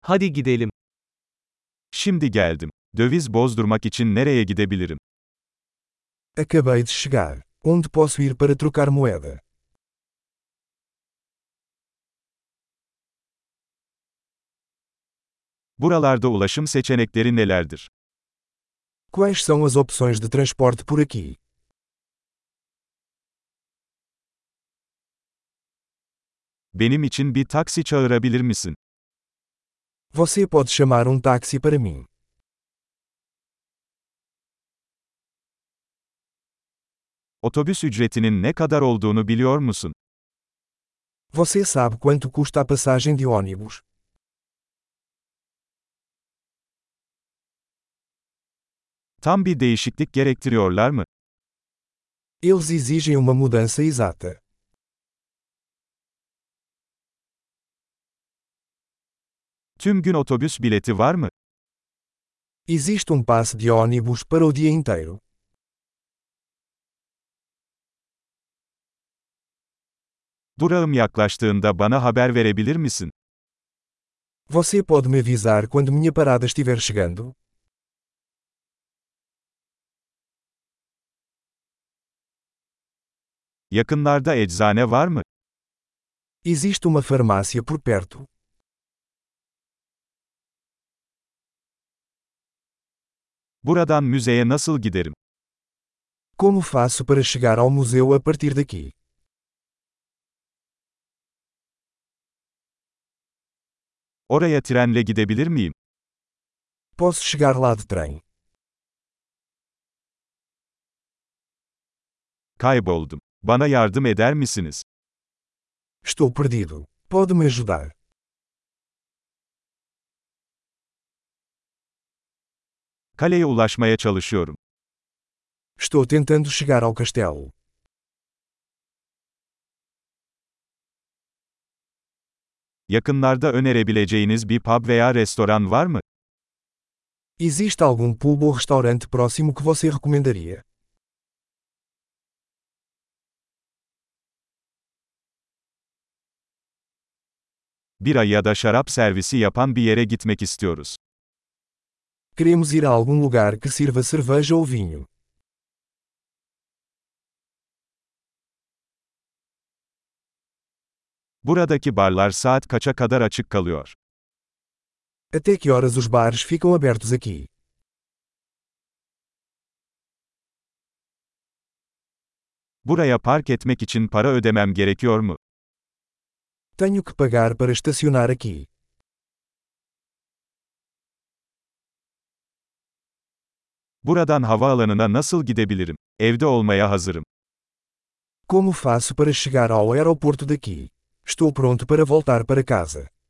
Hadi gidelim. Şimdi geldim. Döviz bozdurmak için nereye gidebilirim? Acabei de chegar. Onde posso ir para trocar moeda? Buralarda ulaşım seçenekleri nelerdir? Quais são as opções de transporte por aqui? Benim için bir taksi çağırabilir misin? Você pode chamar táxi para mim. Otobüs ücretinin ne kadar olduğunu biliyor musun? Você sabe quanto custa a passagem de ônibus? Tam bir değişiklik gerektiriyorlar mı? Eles exigem uma mudança exata. Tüm gün otobüs bileti var mı? Existe passe de ônibus para o dia inteiro. Durağım yaklaştığında bana haber verebilir misin? Você pode me avisar quando minha parada estiver chegando? Yakınlarda eczane var mı? Existe uma farmácia por perto. Buradan müzeye nasıl giderim? Como faço para chegar ao museu a partir daqui? Oraya trenle gidebilir miyim? Posso chegar lá de trem. Kayboldum. Bana yardım eder misiniz? Estou perdido. Pode me ajudar? Kaleye ulaşmaya çalışıyorum. Estou tentando chegar ao castelo. Yakınlarda önerebileceğiniz bir pub veya restoran var mı? Existe algum pub ou restaurante próximo que você recomendaria? Bira ya da şarap servisi yapan bir yere gitmek istiyoruz. Queremos ir a algum lugar que sirva cerveja ou vinho. Buradaki barlar saat kaça kadar açık kalıyor? Até que horas os bares ficam abertos aqui? Buraya park etmek için para ödemem gerekiyor mu? Tenho que pagar para estacionar aqui. Buradan havaalanına nasıl gidebilirim? Evde olmaya hazırım. Como faço para chegar ao aeroporto daqui? Estou pronto para voltar para casa.